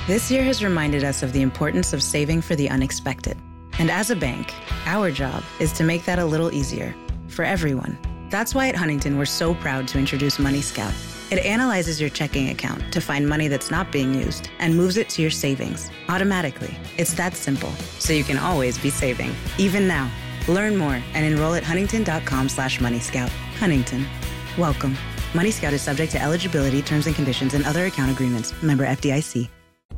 This year has reminded us of the importance of saving for the unexpected. And as a bank, our job is to make that a little easier for everyone. That's why at Huntington, we're so proud to introduce Money Scout. It analyzes your checking account to find money that's not being used and moves it to your savings automatically. It's that simple, so you can always be saving, even now. Learn more and enroll at huntington.com/moneyscout. Huntington. Welcome. Money Scout is subject to eligibility, terms and conditions, and other account agreements. Member FDIC.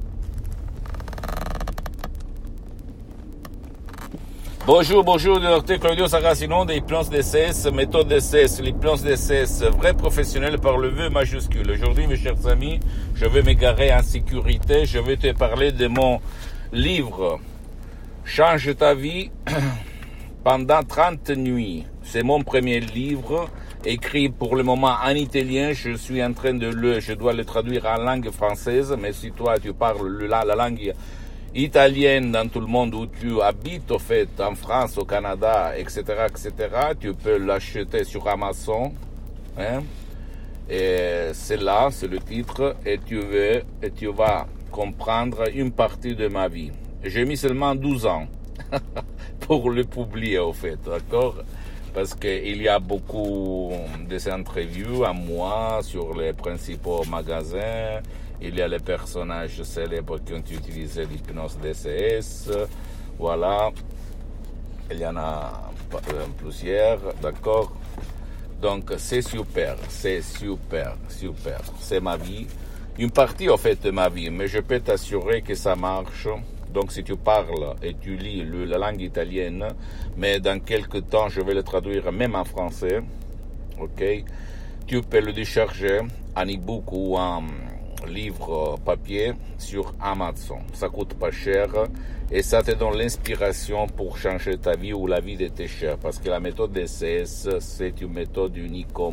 Bonjour, Dr Claudio Saracino de l'hypnose DCS, méthode DCS, l'hypnose DCS, vrai professionnel par le V majuscule. Aujourd'hui, mes chers amis, je vais m'égarer en sécurité. Je vais te parler de mon livre « Change ta vie pendant 30 nuits ». C'est mon premier livre, écrit pour le moment en italien. Je suis en train je dois le traduire en langue française, mais si toi tu parles la langue italienne dans tout le monde où tu habites, au fait, en France, au Canada, etc., tu peux l'acheter sur Amazon, hein, et c'est là, c'est le titre, et tu vas comprendre une partie de ma vie. J'ai mis seulement 12 ans pour le publier, au fait, d'accord? Parce qu'il y a beaucoup d'interviews à moi sur les principaux magasins. Il y a les personnages célèbres qui ont utilisé l'hypnose DCS. Voilà. Il y en a plusieurs, d'accord? Donc, c'est super. C'est ma vie. Une partie, en fait, de ma vie. Mais je peux t'assurer que ça marche. Donc, si tu parles et tu lis la langue italienne, mais dans quelques temps, je vais le traduire même en français, ok? Tu peux le décharger en e-book ou en livre papier sur Amazon. Ça coûte pas cher et ça te donne l'inspiration pour changer ta vie ou la vie de tes chers. Parce que la méthode DCS, c'est une méthode unique au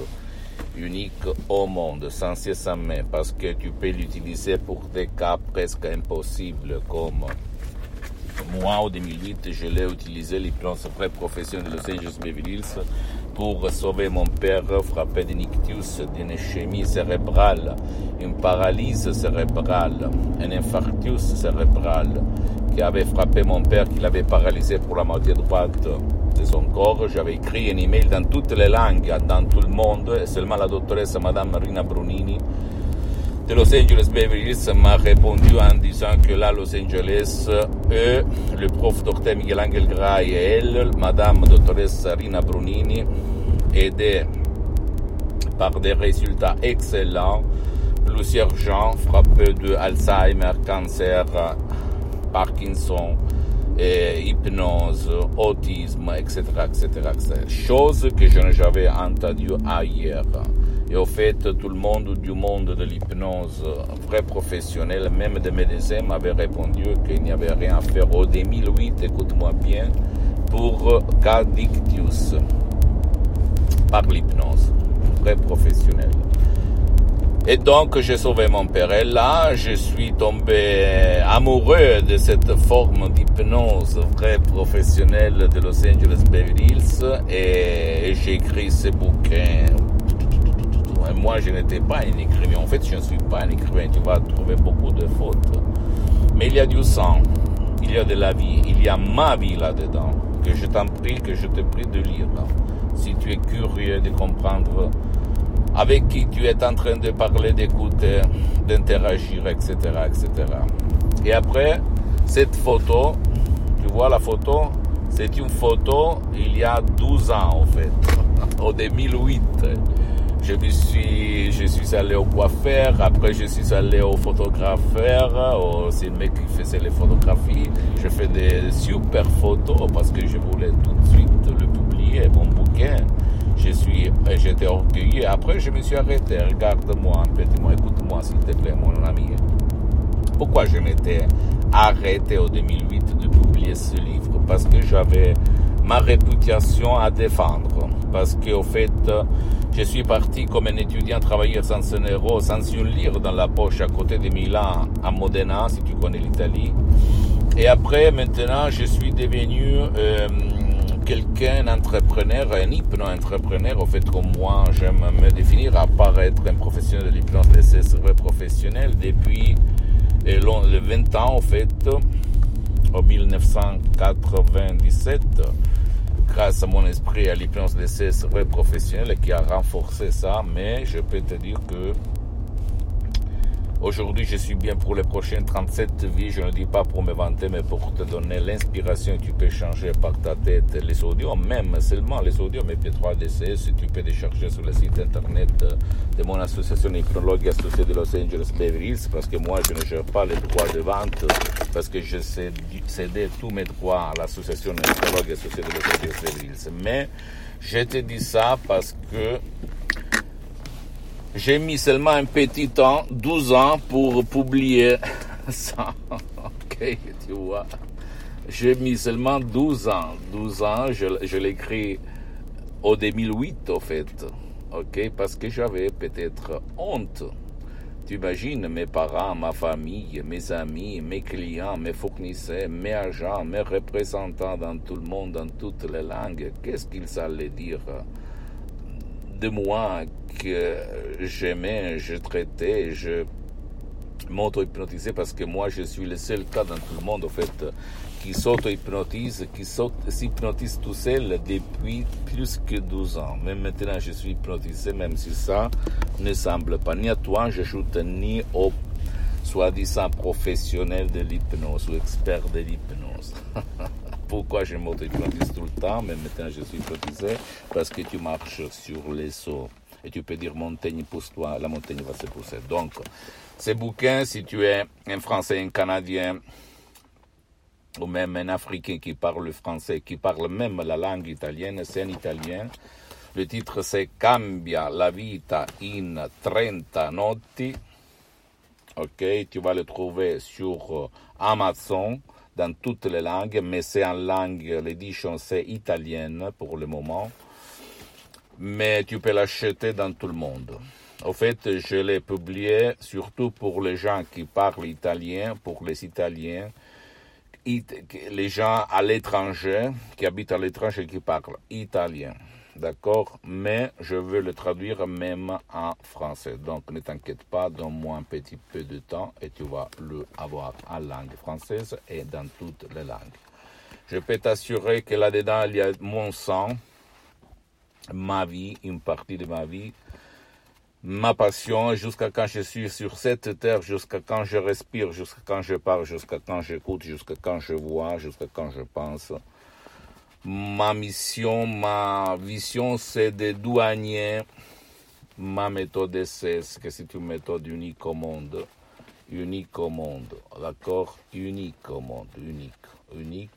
monde, sans cesse sans mais, parce que tu peux l'utiliser pour des cas presque impossibles comme moi, en 2008, je l'ai utilisé, l'hypnose très professionnelle de Los Angeles Beverly Hills, pour sauver mon père frappé d'un ictus, d'une ischémie cérébrale, une paralysie cérébrale, un infarctus cérébral qui avait frappé mon père, qui l'avait paralysé pour la moitié droite de son corps. J'avais écrit un email dans toutes les langues, dans tout le monde, et seulement la doctoresse Madame Rina Brunini de Los Angeles Beverly Hills m'a répondu en disant que là, Los Angeles, eux, le prof Dr Miguel Angel Gray et elle, Madame doctoresse Rina Brunini, aidés par des résultats excellents, plusieurs gens frappés de Alzheimer, cancer, Parkinson, hypnose, autisme, etc. Chose que je n'ai jamais entendue ailleurs. Et au fait, tout le monde du monde de l'hypnose, vrai professionnel, même des médecins, m'avaient répondu qu'il n'y avait rien à faire. Au 2008, écoute-moi bien, pour cas d'ictus, par l'hypnose, vrai professionnel. Et donc, j'ai sauvé mon père. Et là, je suis tombé amoureux de cette forme d'hypnose très professionnelle de Los Angeles Beverly Hills et j'ai écrit ce bouquin. Et moi, je n'étais pas un écrivain. En fait, je ne suis pas un écrivain. Tu vas trouver beaucoup de fautes. Mais il y a du sang, il y a de la vie, il y a ma vie là-dedans, que je te prie de lire. Si tu es curieux de comprendre avec qui tu es en train de parler, d'écouter, d'interagir, etc. Et après, cette photo, tu vois la photo, c'est une il y a 12 ans, en fait, au 2008. Je suis allé au coiffeur, après je suis allé au photographeur, c'est le mec qui faisait les photographies. Je fais des super photos parce que je voulais tout de suite le publier, mon bouquin. J'étais orgueilleux. Après, je me suis arrêté. Regarde-moi un petit mot, écoute-moi s'il te plaît, mon ami. Pourquoi je m'étais arrêté en 2008 de publier ce livre? Parce que j'avais ma réputation à défendre. Parce qu'au fait, je suis parti comme un étudiant travailleur sans un euro, sans une lire dans la poche à côté de Milan, à Modena, si tu connais l'Italie. Et après, maintenant, je suis devenu quelqu'un, un entrepreneur, un hypno-entrepreneur. Au fait, comme moi, j'aime me définir à part être un professionnel de l'hypnose, c'est vrai professionnel depuis les 20 ans, en fait, en 1997, grâce à mon esprit et à l'hypnose DCS vrai professionnel qui a renforcé ça, mais je peux te dire que aujourd'hui, je suis bien pour les prochaines 37 vies. Je ne dis pas pour me vanter, mais pour te donner l'inspiration. Tu peux changer par ta tête les audios, même seulement les audios, mais P3 DCS, tu peux les chercher sur le site internet de mon association hypnologue associée de Los Angeles Beverly Hills, parce que moi, je ne gère pas les droits de vente, parce que je cédé tous mes droits à l'association hypnologue associée de Los Angeles Beverly Hills. Mais je te dis ça parce que j'ai mis seulement un petit temps, 12 ans, pour publier ça. Ok, tu vois. J'ai mis seulement 12 ans. 12 ans, je l'ai écrit au 2008, en fait. Ok, parce que j'avais peut-être honte. Tu imagines mes parents, ma famille, mes amis, mes clients, mes fournisseurs, mes agents, mes représentants dans tout le monde, dans toutes les langues. Qu'est-ce qu'ils allaient dire de moi que j'aimais, je traitais, je m'auto-hypnotisais, parce que moi je suis le seul cas dans tout le monde en fait qui s'auto-hypnotise, qui s'hypnotise tout seul depuis plus que 12 ans. Même maintenant je suis hypnotisé, même si ça ne semble pas ni à toi, j'ajoute ni au soi-disant professionnel de l'hypnose ou expert de l'hypnose. Pourquoi je m'auto-hypnotise tout le temps, mais maintenant je suis hypnotisé? Parce que tu marches sur les eaux. Et tu peux dire montagne, pousse-toi, la montagne va se pousser. Donc, ces bouquins, si tu es un Français, un Canadien, ou même un Africain qui parle le français, qui parle même la langue italienne, c'est un Italien. Le titre c'est Cambia la vita in 30 notti. Ok, tu vas le trouver sur Amazon, dans toutes les langues, mais c'est en langue, l'édition c'est italienne pour le moment, mais tu peux l'acheter dans tout le monde. En fait, je l'ai publié surtout pour les gens qui parlent italien, pour les Italiens, les gens à l'étranger, qui habitent à l'étranger, qui parlent italien. D'accord? Mais je veux le traduire même en français. Donc ne t'inquiète pas, donne-moi un petit peu de temps et tu vas le avoir en langue française et dans toutes les langues. Je peux t'assurer que là-dedans, il y a mon sang, ma vie, une partie de ma vie, ma passion, jusqu'à quand je suis sur cette terre, jusqu'à quand je respire, jusqu'à quand je parle, jusqu'à quand j'écoute, jusqu'à quand je vois, jusqu'à quand je pense. Ma mission, ma vision, c'est de douanier ma méthode DCS, que c'est une méthode unique au monde, d'accord? Unique au monde, unique.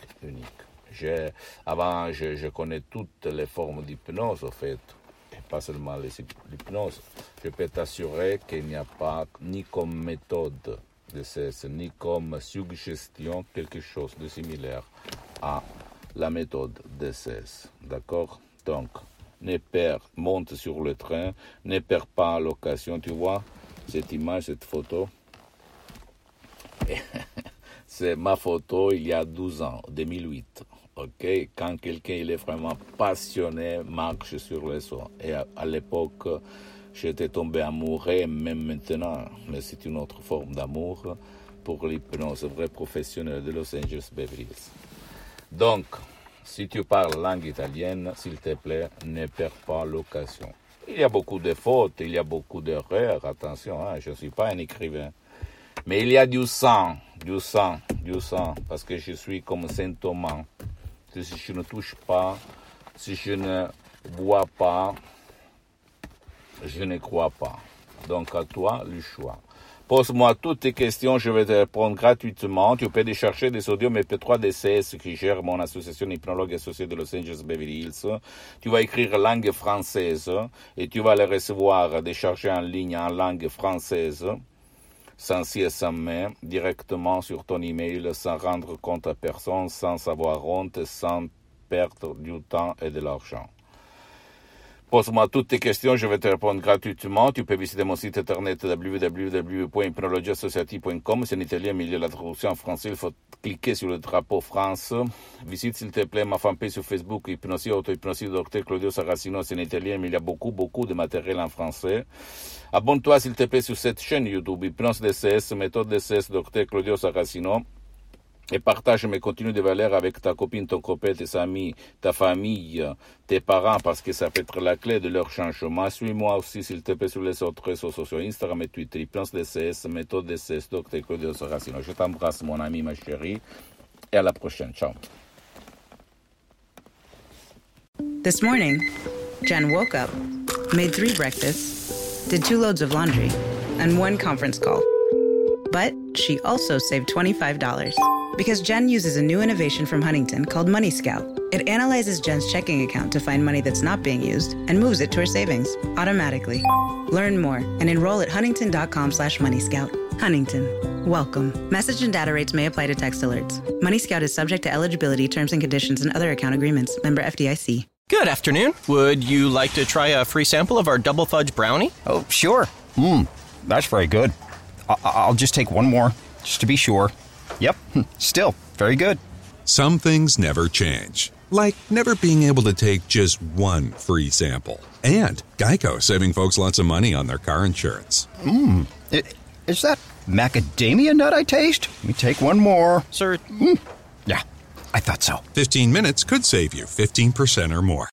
Avant, je connais toutes les formes d'hypnose, en fait, et pas seulement l'hypnose. Je peux t'assurer qu'il n'y a pas, ni comme méthode DCS, ni comme suggestion, quelque chose de similaire à la méthode DCS, d'accord? Donc, monte sur le train, ne perds pas l'occasion, tu vois, cette image, cette photo, c'est ma photo il y a 12 ans, 2008, ok? Quand quelqu'un il est vraiment passionné, marche sur les eaux. Et à l'époque, j'étais tombé amoureux, même maintenant, mais c'est une autre forme d'amour pour l'hypnose vrai professionnel de Los Angeles Beverly Hills. Donc, si tu parles langue italienne, s'il te plaît, ne perds pas l'occasion. Il y a beaucoup de fautes, il y a beaucoup d'erreurs, attention, je ne suis pas un écrivain. Mais il y a du sang, parce que je suis comme Saint Thomas. Si je ne touche pas, si je ne vois pas, je ne crois pas. Donc à toi le choix. Pose-moi toutes tes questions, je vais te répondre gratuitement. Tu peux décharger des audios MP3 DCS qui gère mon association hypnologue associée de Los Angeles Beverly Hills. Tu vas écrire langue française et tu vas les recevoir déchargés en ligne en langue française, sans si et sans mais, directement sur ton email, sans rendre compte à personne, sans avoir honte, sans perdre du temps et de l'argent. Pose-moi toutes tes questions, je vais te répondre gratuitement. Tu peux visiter mon site internet www.hypnologieassociative.com. C'est en italien, mais il y a la traduction en français. Il faut cliquer sur le drapeau France. Visite, s'il te plaît, ma fanpage sur Facebook, Hypnosie, Auto-Hypnosie, Dr Claudio Saracino. C'est en italien, mais il y a beaucoup de matériel en français. Abonne-toi, s'il te plaît, sur cette chaîne YouTube, Hypnose DCS, méthode DCS, Dr Claudio Saracino. Et partage mes contenus de valeur avec ta copine, ton copain, tes amis, ta famille, tes parents, parce que ça peut être la clé de leur changement. Suis-moi aussi, s'il te plaît, sur les autres réseaux sociaux, Instagram et Twitter, Hypnose DCS, méthode DCS, Dr Claudio Saracino. Je t'embrasse, mon ami, ma chérie, et à la prochaine. Ciao. This morning, Jen woke up, made 3 breakfasts, did 2 loads of laundry, and 1 conference call. But she also saved $25 because Jen uses a new innovation from Huntington called Money Scout. It analyzes Jen's checking account to find money that's not being used and moves it to her savings automatically. Learn more and enroll at huntington.com/moneyscout. Huntington. Welcome. Message and data rates may apply to text alerts. Money Scout is subject to eligibility, terms and conditions, and other account agreements. Member FDIC. Good afternoon. Would you like to try a free sample of our double fudge brownie? Oh, sure. That's very good. I'll just take one more, just to be sure. Yep, still very good. Some things never change, like never being able to take just one free sample. And Geico saving folks lots of money on their car insurance. Is that macadamia nut I taste? Let me take one more. Sir? Yeah, I thought so. 15 minutes could save you 15% or more.